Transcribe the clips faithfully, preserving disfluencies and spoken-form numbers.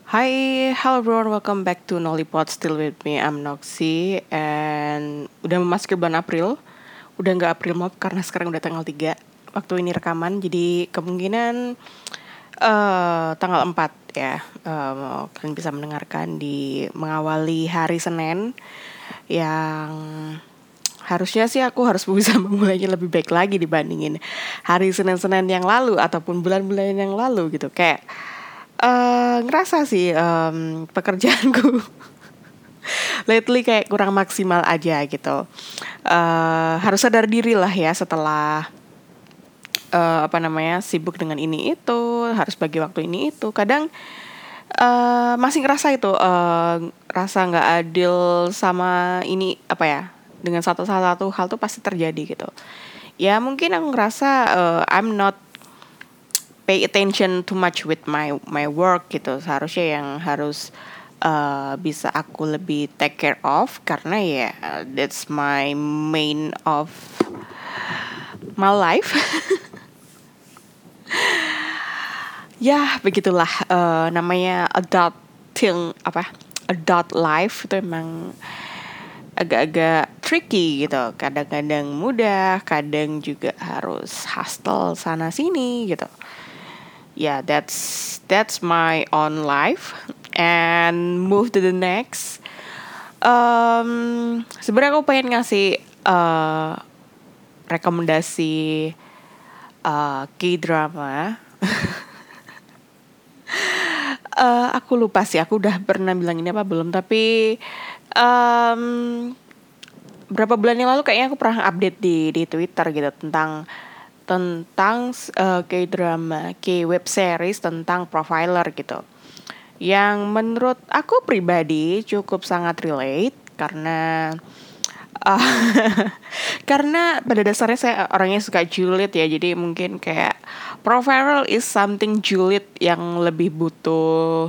Hi, hello everyone, welcome back to Nollipod. Still with me, I'm Noxy. And udah memasuki bulan April. Udah nggak April Mop karena sekarang udah tanggal tiga waktu ini rekaman. Jadi kemungkinan eh tanggal empat ya. Eh, kalian bisa mendengarkan di mengawali hari Senin yang harusnya sih aku harus bisa memulainya lebih baik lagi dibandingin hari Senin-Senin yang lalu ataupun bulan-bulan yang lalu gitu. Kayak eh ngerasa sih em, pekerjaanku lately kayak kurang maksimal aja gitu. Eh harus sadar diri lah ya setelah eh, apa namanya sibuk dengan ini itu, harus bagi waktu ini itu. Kadang eh masih ngerasa itu eh rasa nggak adil sama ini apa ya, dengan satu satu hal tuh pasti terjadi gitu. Ya mungkin aku ngerasa eh, I'm not pay attention too much with my my work gitu. Seharusnya yang harus uh, bisa aku lebih take care of karena ya that's my main of my life. Ya begitulah uh, namanya adulting apa adult life itu emang agak-agak tricky gitu. Kadang-kadang mudah, kadang juga harus hustle sana sini gitu. Yeah, that's that's my own life and move to the next. Um, sebenarnya aku pengen ngasih uh, rekomendasi uh, K-drama. Uh, aku lupa sih, aku udah pernah bilang ini apa belum, tapi um, berapa bulan yang lalu kayaknya aku pernah update di di Twitter gitu tentang tentang uh, K-drama, K-web series tentang profiler gitu. Yang menurut aku pribadi cukup sangat relate karena uh, karena pada dasarnya saya orangnya suka julid ya, jadi mungkin kayak profiler is something julid yang lebih butuh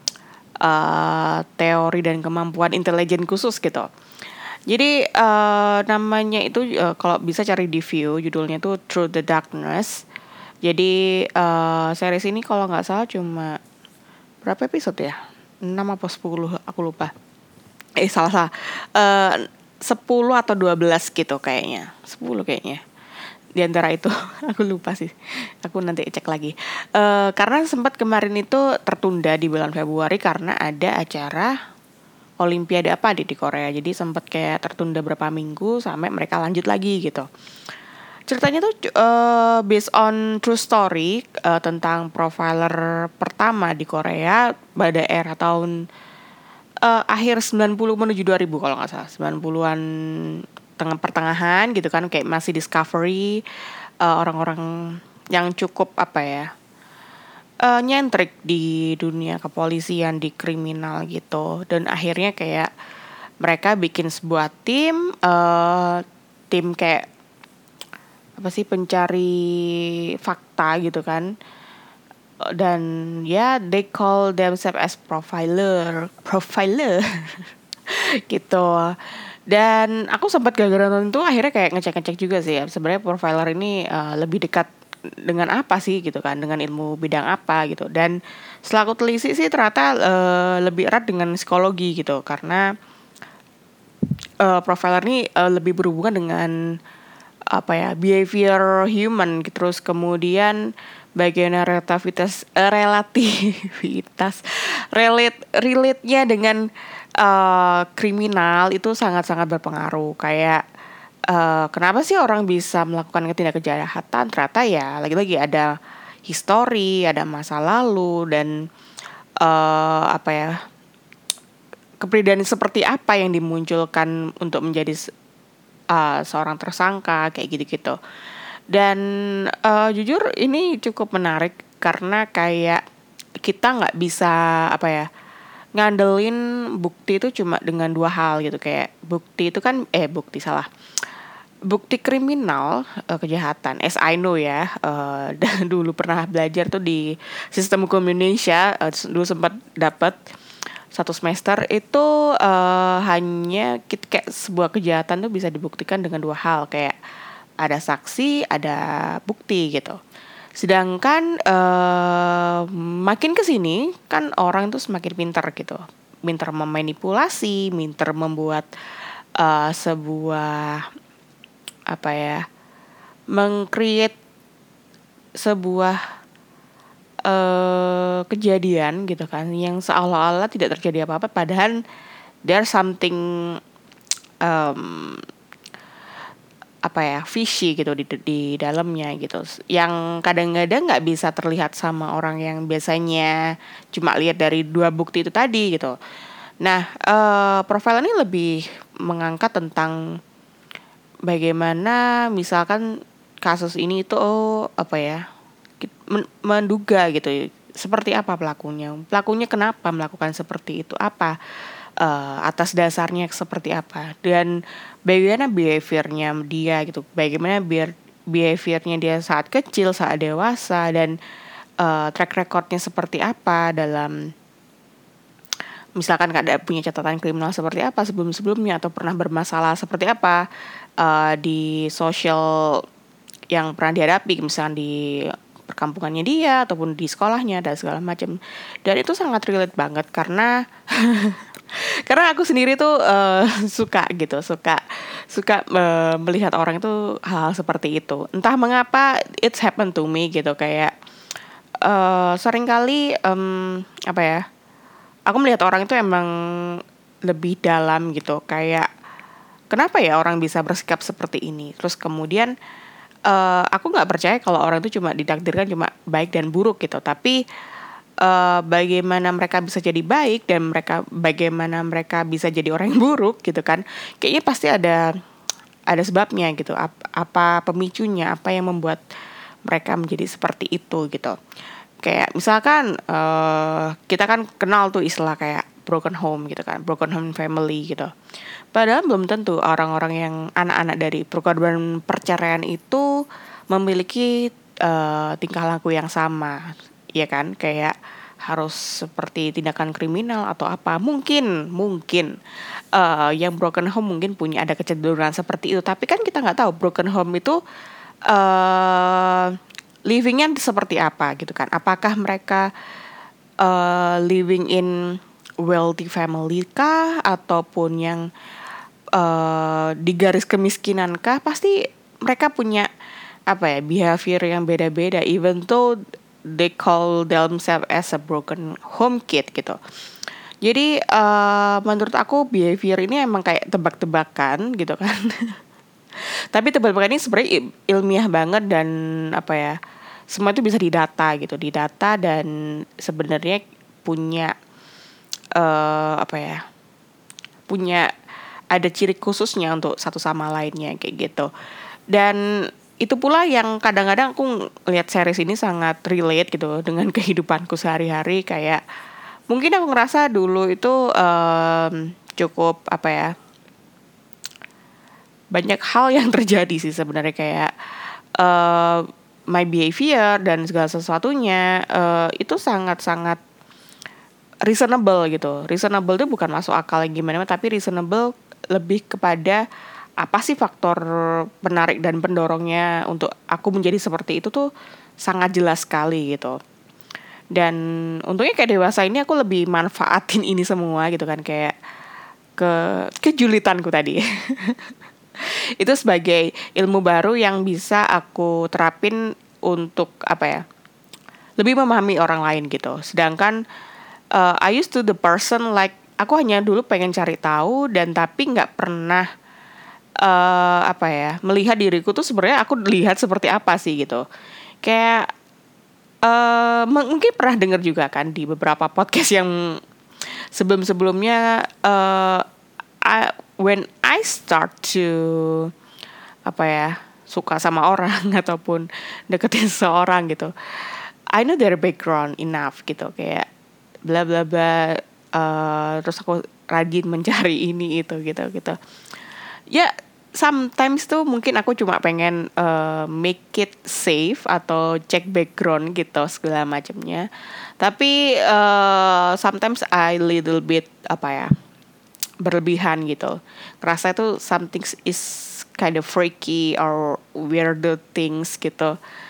uh, teori dan kemampuan intelijen khusus gitu. Jadi uh, namanya itu uh, kalau bisa cari di view, judulnya tuh Through the Darkness. Jadi uh, series ini kalau nggak salah cuma berapa episode ya? Enam apa sepuluh aku lupa. Eh salah salah. Eh sepuluh atau dua belas gitu kayaknya. Sepuluh kayaknya. Di antara itu aku lupa sih. Aku nanti cek lagi. Eh karena sempat kemarin itu tertunda di bulan Februari karena ada acara Olimpiade apa di di Korea. Jadi sempat kayak tertunda berapa minggu sampai mereka lanjut lagi gitu. Ceritanya tuh uh, based on true story uh, tentang profiler pertama di Korea pada era tahun uh, akhir sembilan puluh menuju dua ribu kalau nggak salah. sembilan puluhan tengah pertengahan gitu kan, kayak masih discovery uh, orang-orang yang cukup apa ya, uh, nyentrik di dunia kepolisian, di kriminal gitu. Dan akhirnya kayak mereka bikin sebuah tim uh, tim kayak apa sih, pencari fakta gitu kan. Dan ya they call themselves as profiler profiler gitu. Dan aku sempat gara-gara nonton itu akhirnya kayak ngecek-ngecek juga sih ya, sebenarnya profiler ini uh, lebih dekat dengan apa sih gitu kan, dengan ilmu bidang apa gitu. Dan setelah aku telisik sih ternyata uh, lebih erat dengan psikologi gitu, karena uh, profiler ini uh, lebih berhubungan dengan apa ya, behavior human gitu. Terus kemudian bagian relativitas eh, relativitas relate relate-nya dengan uh, kriminal itu sangat-sangat berpengaruh. Kayak uh, kenapa sih orang bisa melakukan tindak kejahatan? Ternyata ya lagi-lagi ada histori, ada masa lalu, dan uh, apa ya, kepribadian seperti apa yang dimunculkan untuk menjadi uh, seorang tersangka kayak gitu-gitu. Dan uh, jujur ini cukup menarik karena kayak kita nggak bisa apa ya, ngandelin bukti itu cuma dengan dua hal gitu. Kayak bukti itu kan eh bukti salah bukti kriminal, uh, kejahatan, as I know ya, uh, dan dulu pernah belajar tuh di sistem hukum Indonesia, uh, dulu sempat dapat satu semester itu uh, hanya kita, kayak sebuah kejahatan tuh bisa dibuktikan dengan dua hal, kayak ada saksi, ada bukti gitu. Sedangkan uh, makin kesini kan orang tuh semakin pintar gitu, pintar memanipulasi, pintar membuat uh, sebuah apa ya, mengcreate sebuah uh, kejadian gitu kan, yang seolah-olah tidak terjadi apa-apa, padahal there's something um, apa ya, fishy gitu di di dalamnya gitu, yang kadang-kadang nggak bisa terlihat sama orang yang biasanya cuma lihat dari dua bukti itu tadi gitu. Nah, uh, profil ini lebih mengangkat tentang bagaimana misalkan kasus ini itu oh, apa ya, menduga gitu, seperti apa pelakunya, pelakunya kenapa melakukan seperti itu, apa uh, atas dasarnya seperti apa, dan bagaimana behaviornya dia gitu, bagaimana biar behaviornya dia saat kecil, saat dewasa, dan uh, track recordnya seperti apa dalam misalkan ada punya catatan kriminal seperti apa sebelum-sebelumnya, atau pernah bermasalah seperti apa uh, di sosial yang pernah dihadapi, misalnya di perkampungannya dia ataupun di sekolahnya dan segala macam. Dan itu sangat relate banget karena karena aku sendiri tuh uh, suka gitu, suka suka uh, melihat orang itu hal seperti itu. Entah mengapa it's happened to me gitu, kayak uh, seringkali um, apa ya, aku melihat orang itu emang lebih dalam gitu, kayak kenapa ya orang bisa bersikap seperti ini. Terus kemudian uh, aku nggak percaya kalau orang itu cuma ditakdirkan cuma baik dan buruk gitu, tapi uh, bagaimana mereka bisa jadi baik dan mereka bagaimana mereka bisa jadi orang yang buruk gitu kan, kayaknya pasti ada ada sebabnya gitu, apa, apa pemicunya, apa yang membuat mereka menjadi seperti itu gitu. Kayak misalkan uh, kita kan kenal tuh istilah kayak broken home gitu kan, broken home family gitu. Padahal belum tentu orang-orang yang anak-anak dari korban perceraian itu memiliki uh, tingkah laku yang sama, ya kan? Kayak harus seperti tindakan kriminal atau apa. Mungkin, mungkin uh, yang broken home mungkin punya ada kecenderungan seperti itu. Tapi kan kita nggak tahu broken home itu uh, livingnya seperti apa gitu kan. Apakah mereka uh, living in wealthy family kah, ataupun yang uh, di garis kemiskinan kah? Pasti mereka punya apa ya, behavior yang beda-beda, even though they call themselves as a broken home kid gitu. Jadi uh, menurut aku behavior ini emang kayak tebak-tebakan gitu kan. Tapi tebak-tebakan ini sebenarnya ilmiah banget dan apa ya, semua itu bisa didata gitu, didata dan sebenarnya punya uh, apa ya, punya ada ciri khususnya untuk satu sama lainnya kayak gitu. Dan itu pula yang kadang-kadang aku lihat series ini sangat relate gitu dengan kehidupanku sehari-hari. Kayak mungkin aku ngerasa dulu itu um, cukup apa ya, banyak hal yang terjadi sih sebenarnya, kayak uh, my behavior dan segala sesuatunya uh, itu sangat-sangat reasonable gitu. Reasonable itu bukan masuk akal gimana, tapi reasonable lebih kepada apa sih faktor penarik dan pendorongnya untuk aku menjadi seperti itu tuh sangat jelas sekali gitu. Dan untungnya kayak dewasa ini aku lebih manfaatin ini semua gitu kan, kayak ke kejulitanku tadi. Itu sebagai ilmu baru yang bisa aku terapin untuk apa ya, lebih memahami orang lain gitu. Sedangkan uh, I used to the person like aku hanya dulu pengen cari tahu dan tapi nggak pernah uh, apa ya, melihat diriku tuh sebenarnya aku lihat seperti apa sih gitu. Kayak uh, mungkin pernah dengar juga kan di beberapa podcast yang sebelum-sebelumnya uh, I, when I start to apa ya, suka sama orang ataupun deketin seseorang gitu, I know their background enough gitu, kayak bla bla bla, uh, terus aku rajin mencari ini itu gitu gitu. Ya sometimes tuh mungkin aku cuma pengen uh, make it safe atau cek background gitu segala macamnya. Tapi uh, sometimes I little bit apa ya, berlebihan gitu. Kerasa itu something is kind of freaky or weird things gitu.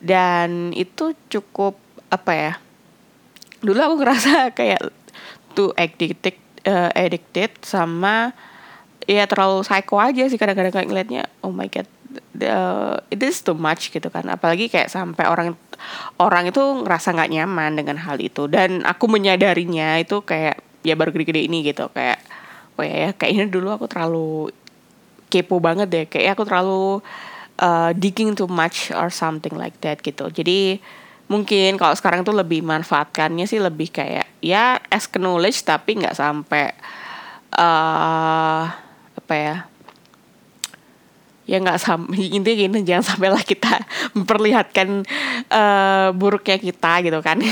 dan itu cukup apa ya, dulu aku ngerasa kayak too addicted uh, addicted sama ya terlalu psycho aja sih kadang-kadang kayak ngeliatnya, oh my god, the, it is too much gitu kan, apalagi kayak sampai orang orang itu ngerasa nggak nyaman dengan hal itu, dan aku menyadarinya itu kayak ya baru gede-gede ini gitu, kayak oh ya, ya kayaknya dulu aku terlalu kepo banget deh, kayak aku terlalu uh, digging too much or something like that gitu. Jadi mungkin kalau sekarang tuh lebih manfaatkannya sih lebih kayak ya as knowledge, tapi nggak sampai uh, apa ya, ya nggak sampai, intinya gini, jangan sampailah kita memperlihatkan uh, buruknya kita gitu kan.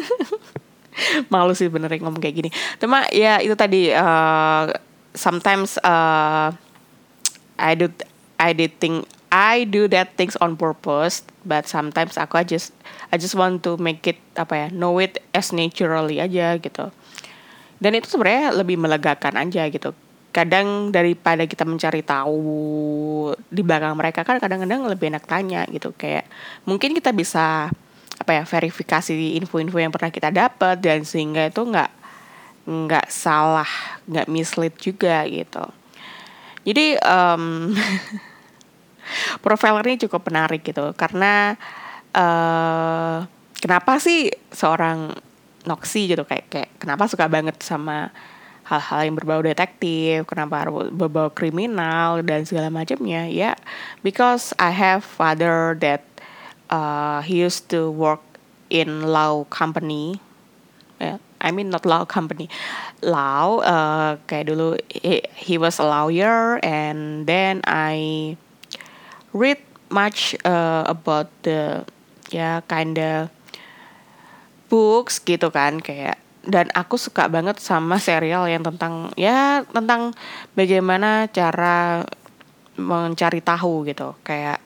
Malu sih beneran ngomong kayak gini, cuma ya itu tadi, uh, sometimes uh, I do I did think I do that things on purpose, but sometimes aku I just I just want to make it apa ya, know it as naturally aja gitu. Dan itu sebenarnya lebih melegakan aja gitu. Kadang daripada kita mencari tahu di belakang mereka, kan kadang-kadang lebih enak tanya gitu, kayak mungkin kita bisa apa ya, verifikasi info-info yang pernah kita dapat, dan sehingga itu nggak nggak salah, nggak mislead juga gitu. Jadi um, profiler ini cukup menarik gitu, karena uh, kenapa sih seorang Noxy gitu, kayak kayak kenapa suka banget sama hal-hal yang berbau detektif, kenapa berbau kriminal dan segala macamnya ya, because I have father that uh, he used to work in law company. Yeah, I mean not law company, law. Uh, kayak dulu he, he was a lawyer, and then I read much uh, about the ya kinda books gitu kan, kayak, dan aku suka banget sama serial yang tentang ya tentang bagaimana cara mencari tahu gitu, kayak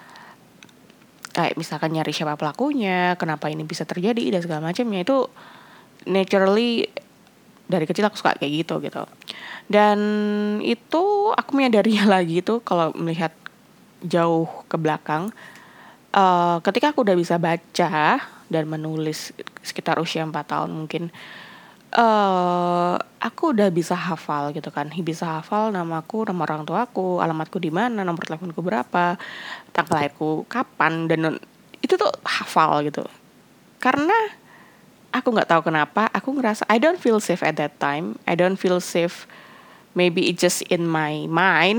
kayak misalkan nyari siapa pelakunya, kenapa ini bisa terjadi dan segala macamnya, itu naturally dari kecil aku suka kayak gitu gitu. Dan itu aku menyadarinya lagi tuh kalau melihat jauh ke belakang, uh, ketika aku udah bisa baca dan menulis sekitar usia empat tahun mungkin, uh, aku udah bisa hafal gitu kan, bisa hafal namaku, nama orang tuaku, alamatku di mana, nomor teleponku berapa, tanggal lahirku kapan, dan itu tuh hafal gitu. Karena aku nggak tahu kenapa, aku ngerasa I don't feel safe at that time. I don't feel safe. Maybe it's just in my mind.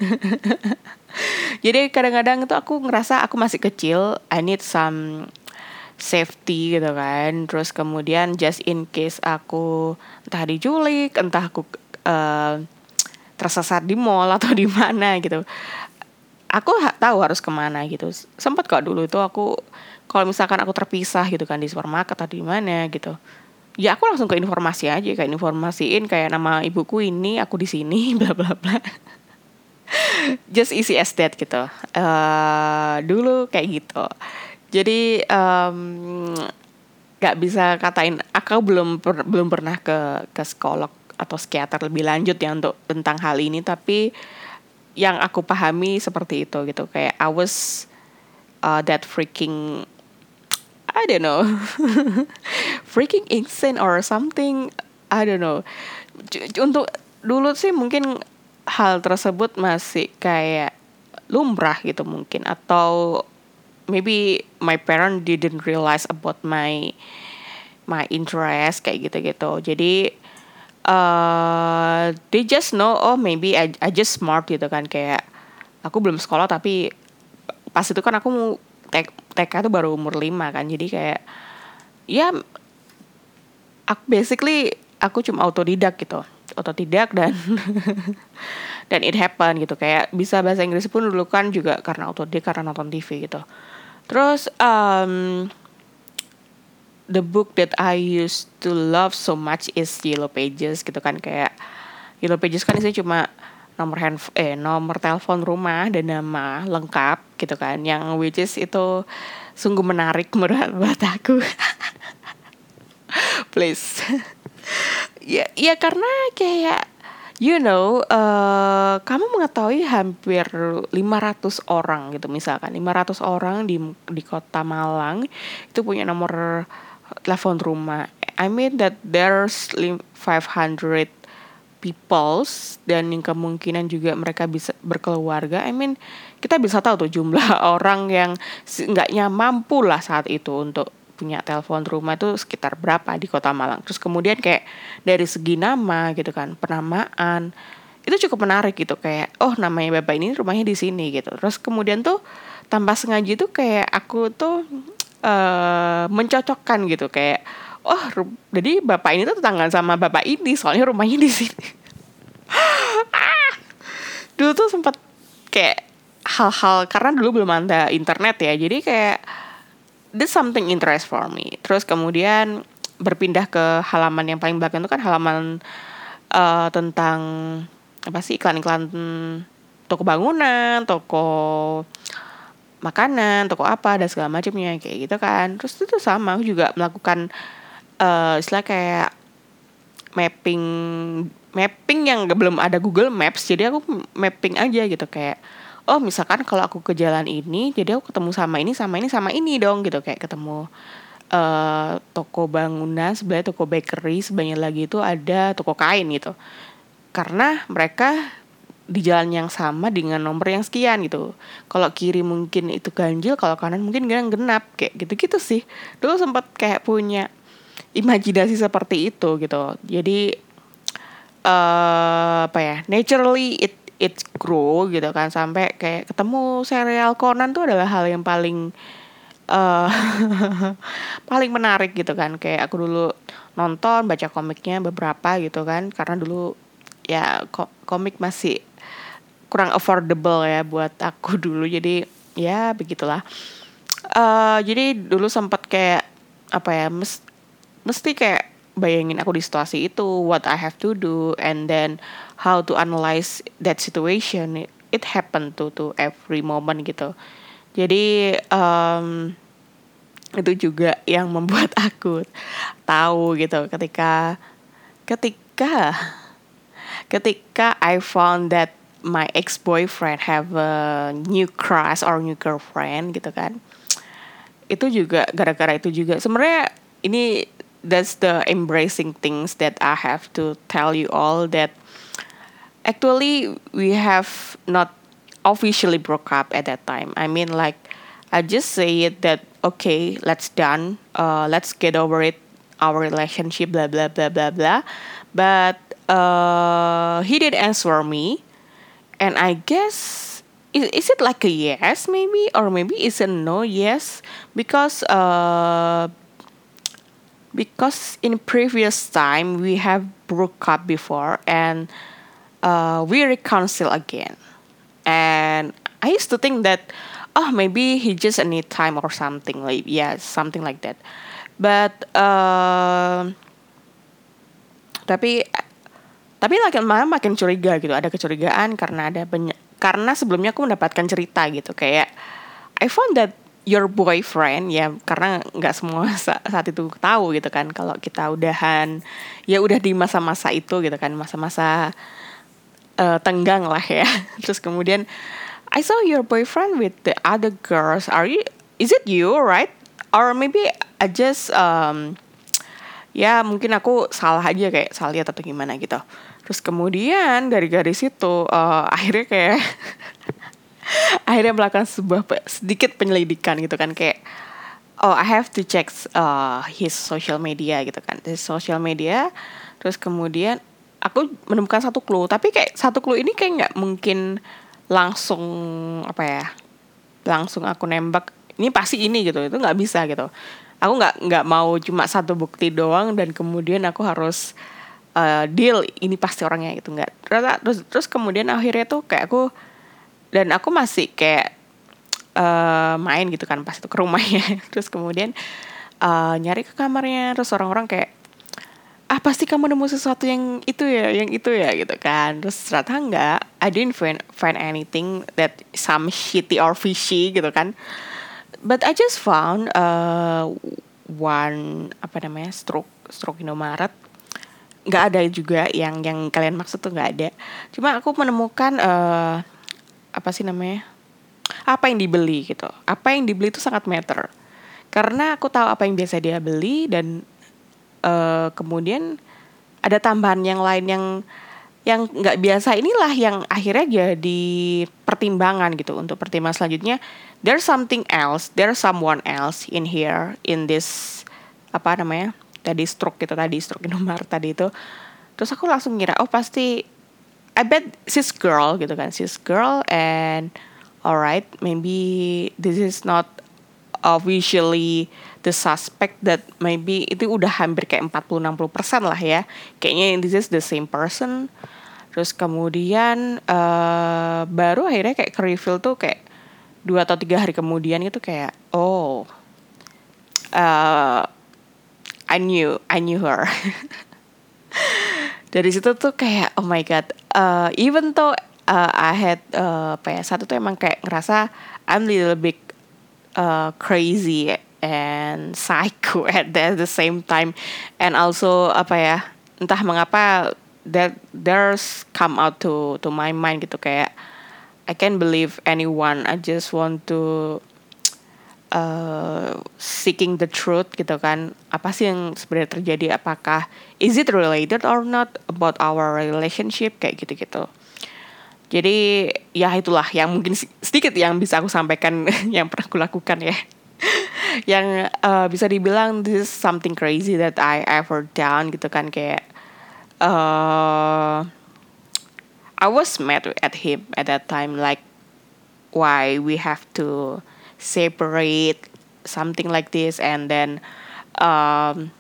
Jadi kadang-kadang itu aku ngerasa aku masih kecil. I need some safety gitu kan. Terus kemudian just in case aku entah diculik, entah aku uh, tersesat di mall atau di mana gitu, aku ha- tahu harus kemana gitu. Sempat kok dulu itu aku, kalau misalkan aku terpisah gitu kan di supermarket atau di mana gitu, ya aku langsung ke informasi aja, kayak informasiin kayak nama ibuku ini, aku di sini, bla bla bla. Just easy as that gitu. Uh, dulu kayak gitu. Jadi um, gak bisa katain, aku belum per, belum pernah ke ke psikolog atau psikiater lebih lanjut ya untuk tentang hal ini, tapi yang aku pahami seperti itu gitu, kayak I was uh, that freaking, I don't know, freaking insane or something, I don't know. Untuk dulu sih mungkin hal tersebut masih kayak lumrah gitu mungkin, atau maybe my parent didn't realize about my my interest kayak gitu-gitu. Jadi uh, they just know, oh maybe I, I just smart gitu kan, kayak aku belum sekolah, tapi pas itu kan aku mau T K tuh baru umur lima kan, jadi kayak ya aku basically aku cuma autodidak gitu, autodidak dan dan it happen gitu, kayak bisa bahasa Inggris pun dulu kan juga karena autodidak, karena nonton T V gitu. Terus um, the book that I used to love so much is Yellow Pages gitu kan, kayak Yellow Pages kan isinya cuma nomor handphone, eh nomor telepon rumah dan nama lengkap gitu kan, yang which is itu sungguh menarik menurut buat aku. Please. ya ya karena kayak you know, uh, kamu mengetahui hampir lima ratus orang gitu, misalkan lima ratus orang di di kota Malang itu punya nomor telepon rumah. I mean that there's five hundred peoples dan yang kemungkinan juga mereka bisa berkeluarga. I mean kita bisa tahu tuh jumlah orang yang enggaknya mampu lah saat itu untuk punya telepon rumah itu sekitar berapa di kota Malang. Terus kemudian kayak dari segi nama gitu kan, penamaan itu cukup menarik gitu, kayak oh namanya bapak ini rumahnya di sini gitu. Terus kemudian tuh tanpa sengaja tuh kayak aku tuh uh, mencocokkan gitu, kayak oh ru- jadi bapak ini tuh tetanggaan sama bapak ini soalnya rumahnya di sini. Dulu tuh sempat kayak hal-hal, karena dulu belum ada internet ya, jadi kayak there's something interest for me. Terus kemudian berpindah ke halaman yang paling belakang itu kan halaman uh, tentang apa sih, iklan-iklan toko bangunan, toko makanan, toko apa dan segala macamnya kayak gitu kan. Terus itu sama, aku juga melakukan uh, istilah kayak mapping mapping yang belum ada Google Maps, jadi aku mapping aja gitu, kayak oh misalkan kalau aku ke jalan ini, jadi aku ketemu sama ini sama ini sama ini dong gitu, kayak ketemu uh, toko bangunan sebelah, toko bakery sebelahnya lagi itu ada toko kain gitu, karena mereka di jalan yang sama dengan nomor yang sekian gitu. Kalau kiri mungkin itu ganjil, kalau kanan mungkin genap, kayak gitu-gitu sih. Dulu sempat kayak punya imajinasi seperti itu gitu. Jadi uh, apa ya, naturally it it grow gitu kan, sampai kayak ketemu serial Conan tuh adalah hal yang paling uh, paling menarik gitu kan. Kayak aku dulu nonton, baca komiknya beberapa gitu kan, karena dulu ya ko- komik masih kurang affordable ya buat aku dulu, jadi ya begitulah. Uh, jadi dulu sempat kayak apa ya, mes, mesti kayak bayangin aku di situasi itu, what I have to do, and then how to analyze that situation. It, it happened to to every moment gitu. Jadi um, itu juga yang membuat aku tahu gitu, ketika ketika ketika I found that my ex-boyfriend have a new crush or new girlfriend gitu kan. Itu juga gara-gara itu juga. Sebenarnya ini that's the embracing things that I have to tell you all, that actually we have not officially broke up at that time. I mean like I just say it that okay, let's done. Uh, let's get over it. Our relationship, blah blah blah blah blah. But uh, he did answer me, and I guess is, is it like a yes maybe, or maybe it's a no yes, because uh because in previous time we have broke up before, and uh, we reconcile again, and I used to think that oh maybe he just need time or something, like yeah, something like that. But uh, tapi tapi makin lama makin curiga gitu, ada kecurigaan karena ada banyak, karena sebelumnya aku mendapatkan cerita gitu, kayak I found that your boyfriend, ya karena nggak semua saat itu tahu gitu kan kalau kita udahan, ya udah di masa-masa itu gitu kan, masa-masa uh, tenggang lah ya. Terus kemudian I saw your boyfriend with the other girls, are you, is it you, right? Or maybe I just um, ya mungkin aku salah aja, kayak salah lihat atau gimana gitu. Terus kemudian dari garis itu uh, akhirnya kayak akhirnya melakukan sebuah pe- sedikit penyelidikan gitu kan, kayak oh I have to check uh, his social media gitu kan, his social media. Terus kemudian aku menemukan satu clue, tapi kayak satu clue ini kayak nggak mungkin langsung apa ya, langsung aku nembak ini pasti ini gitu, itu nggak bisa gitu. Aku nggak nggak mau cuma satu bukti doang dan kemudian aku harus uh, deal ini pasti orangnya gitu, nggak. Terus terus kemudian akhirnya tuh kayak aku, dan aku masih kayak uh, main gitu kan pas itu ke rumahnya. Terus kemudian uh, nyari ke kamarnya, terus orang-orang kayak ah pasti kamu nemu sesuatu yang itu ya, yang itu ya gitu kan. Terus ternyata enggak, I didn't find, find anything that some shitty or fishy gitu kan. But I just found uh, one apa namanya stroke stroke Indomaret nggak ada juga yang yang kalian maksud tuh, nggak ada. Cuma aku menemukan uh, apa sih namanya, apa yang dibeli gitu. Apa yang dibeli itu sangat matter. Karena aku tahu apa yang biasa dia beli, dan uh, kemudian ada tambahan yang lain yang yang nggak biasa, inilah yang akhirnya jadi pertimbangan gitu. Untuk pertimbangan selanjutnya, there's something else, there's someone else in here, in this, apa namanya, tadi stroke gitu, tadi stroke Indomaret tadi itu. Terus aku langsung ngira, oh pasti, I bet she's girl gitu kan, she's girl, and alright, maybe this is not officially the suspect, that maybe itu udah hampir kayak empat puluh sampai enam puluh persen lah ya. Kayaknya this is the same person. Terus kemudian uh, baru akhirnya kayak ke reveal tuh kayak dua atau tiga hari kemudian gitu, kayak oh uh, I knew I knew her. Dari situ tuh kayak oh my god, uh, even though uh, I had uh, apa ya, satu tuh emang kayak ngerasa I'm little bit uh, crazy and psycho at the, the same time, and also apa ya, entah mengapa that there's come out to to my mind gitu, kayak I can't believe anyone, I just want to uh, seeking the truth gitu kan, apa sih yang sebenarnya terjadi, apakah is it related or not about our relationship, kayak gitu-gitu. Jadi ya itulah yang mungkin sedikit yang bisa aku sampaikan yang pernah aku lakukan ya. Yang uh, bisa dibilang this is something crazy that I ever done gitu kan, kayak uh, I was mad at him at that time, like why we have to separate, something like this, and then um,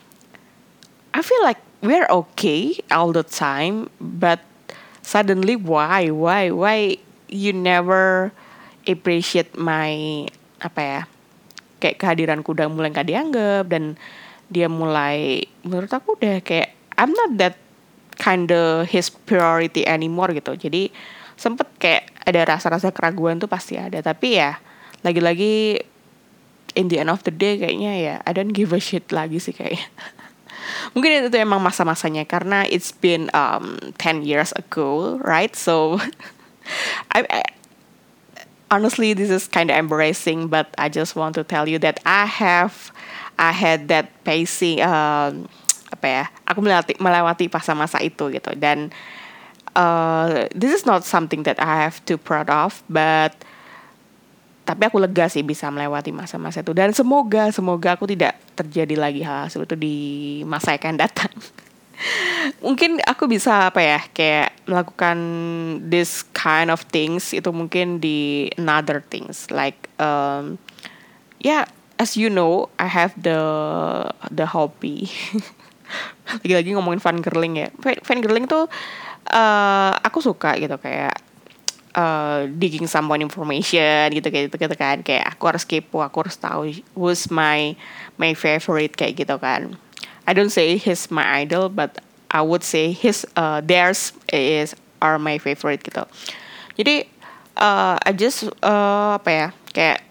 I feel like we're okay all the time, but suddenly why why why you never appreciate my apa ya, kayak kehadiranku udah mulai gak dianggap, dan dia mulai menurut aku udah kayak I'm not that kinda his priority anymore gitu. Jadi sempet kayak ada rasa-rasa keraguan tuh pasti ada, tapi ya lagi-lagi in the end of the day kayaknya ya I don't give a shit lagi sih kayaknya. Mungkin itu emang masa-masanya, karena it's been um, ten years ago, right? So I, I honestly this is kind of embarrassing, but I just want to tell you that I have I had that pacing um, apa ya, aku melewati melewati masa-masa itu gitu, dan uh, this is not something that I have to proud of, but tapi aku lega sih bisa melewati masa-masa itu, dan semoga semoga aku tidak terjadi lagi hal seperti itu di masa yang akan datang. Mungkin aku bisa apa ya, kayak melakukan this kind of things itu mungkin di another things, like um, yeah, as you know I have the the hobby. Lagi-lagi ngomongin fangirling ya, fangirling tuh uh, aku suka gitu, kayak uh, digging someone information gitu kayak gitu, gitu kan, kayak aku harus kepo, aku harus tahu who's my my favorite kayak gitu kan. I don't say he's my idol, but I would say his uh, theirs is are my favorite gitu. Jadi uh, I just uh, apa ya, kayak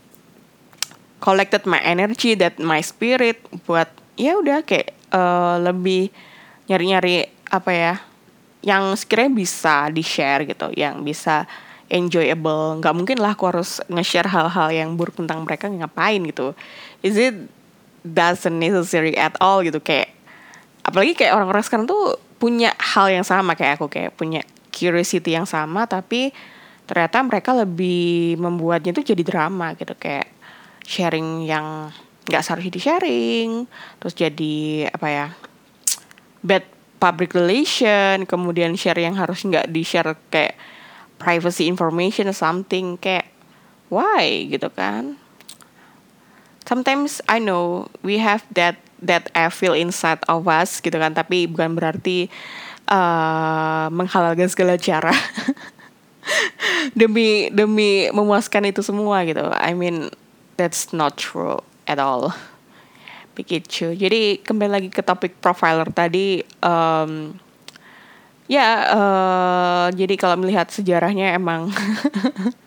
collected my energy, that my spirit buat ya udah kayak uh, lebih nyari-nyari apa ya, yang sekiranya bisa di-share gitu, yang bisa enjoyable. Nggak mungkin lah aku harus nge-share hal-hal yang buruk tentang mereka, ngapain gitu. Is it doesn't necessary at all gitu, kayak apalagi kayak orang-orang sekarang tuh punya hal yang sama kayak aku, kayak punya curiosity yang sama, tapi ternyata mereka lebih membuatnya tuh jadi drama gitu, kayak sharing yang nggak seharusnya di-sharing, terus jadi apa ya, bad public relation, kemudian share yang harus nggak di-share, kayak privacy information or something, kayak why gitu kan. Sometimes I know we have that that evil inside of us gitu kan, tapi bukan berarti uh, menghalalkan segala cara demi demi memuaskan itu semua gitu. I mean that's not true at all. Begitu. Jadi kembali lagi ke topik profiler tadi, um, ya uh, jadi kalau melihat sejarahnya emang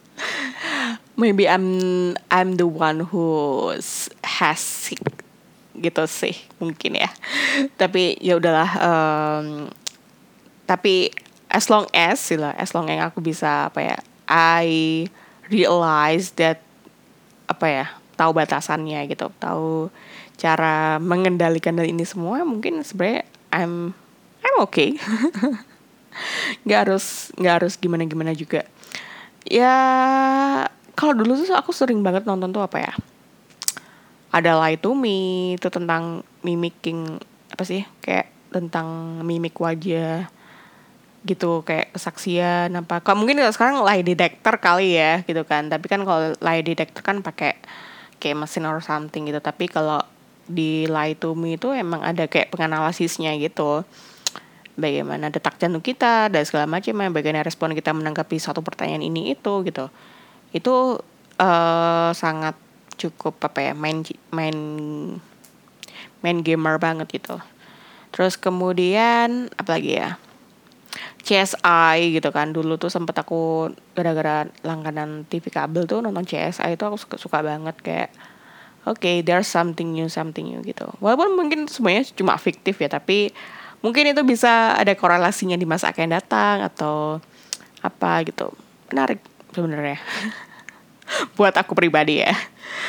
maybe I'm I'm the one who has gitu sih mungkin ya. Tapi ya udahlah, um, tapi as long as lah as long as aku bisa apa ya, I realize that apa ya, tahu batasannya gitu, tahu cara mengendalikan dari ini semua, mungkin sebenarnya I'm I'm okay. nggak harus nggak harus gimana gimana juga ya. Kalau dulu tuh aku sering banget nonton tuh apa ya, ada Lie to Me, itu tentang mimicking, apa sih, kayak tentang mimik wajah gitu, kayak kesaksian apa. Kalau mungkin kalau sekarang lie detector kali ya gitu kan, tapi kan kalau lie detector kan pakai kayak mesin or something gitu. Tapi kalau di Lie to Me itu emang ada kayak penganalisisnya gitu, bagaimana detak jantung kita dan segala macam, bagaimana respon kita menanggapi satu pertanyaan ini itu gitu. Itu uh, sangat cukup apa ya, main main main gamer banget gitu. Terus kemudian apa lagi ya, C S I gitu kan. Dulu tuh sempet aku gara-gara langganan T V kabel tuh nonton C S I itu aku suka, suka banget kayak oke, okay, there's something new, something new gitu. Walaupun mungkin semuanya cuma fiktif ya, tapi mungkin itu bisa ada korelasinya di masa akan datang atau apa gitu. Menarik sebenarnya. Buat aku pribadi ya.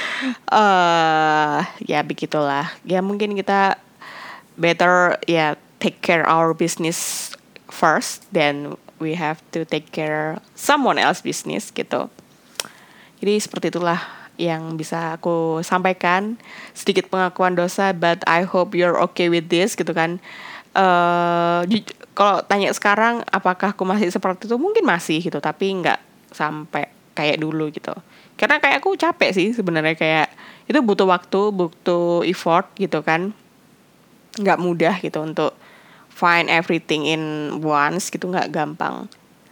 Uh, ya begitulah. Ya mungkin kita better ya take care our business first, then we have to take care someone else business gitu. Jadi seperti itulah yang bisa aku sampaikan, sedikit pengakuan dosa, but I hope you're okay with this gitu kan. Uh, ju- kalau tanya sekarang apakah aku masih seperti itu, mungkin masih gitu, tapi nggak sampai kayak dulu gitu. Karena kayak aku capek sih sebenarnya, kayak itu butuh waktu, butuh effort gitu kan. Nggak mudah gitu untuk find everything in once gitu, nggak gampang.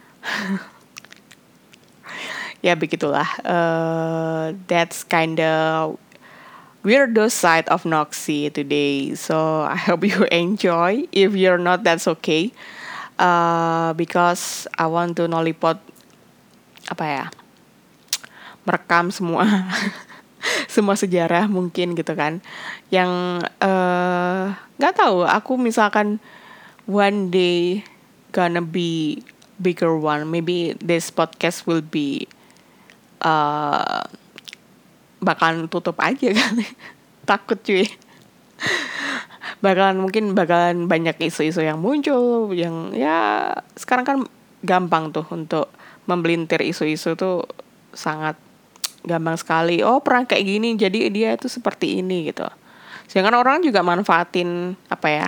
Ya begitulah. Uh, that's kinda weirdo side of Noxy today. So I hope you enjoy. If you're not, that's okay. Uh, because I want to nolipot apa ya, merekam semua semua sejarah mungkin gitu kan, yang nggak uh, tahu aku misalkan one day gonna be bigger one, maybe this podcast will be uh, bakalan tutup aja kali. Takut cuy. Bakalan mungkin bakalan banyak isu-isu yang muncul, yang ya sekarang kan gampang tuh untuk membelintir isu-isu tuh, sangat gampang sekali. Oh pernah kayak gini, jadi dia tuh seperti ini gitu. Sedangkan orang juga manfaatin apa ya,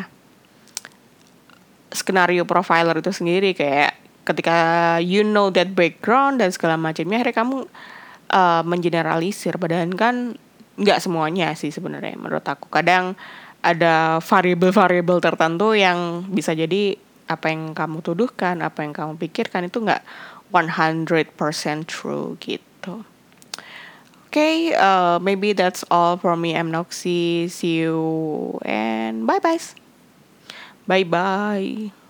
skenario profiler itu sendiri, kayak ketika you know that background dan segala macamnya, akhirnya kamu uh, mengeneralisir. Padahal kan nggak semuanya sih sebenarnya menurut aku. Kadang ada variabel-variabel tertentu yang bisa jadi apa yang kamu tuduhkan, apa yang kamu pikirkan itu nggak one hundred percent true gitu. Okay, uh, maybe that's all for me. I'm Noxy. See you and bye bye. Bye bye.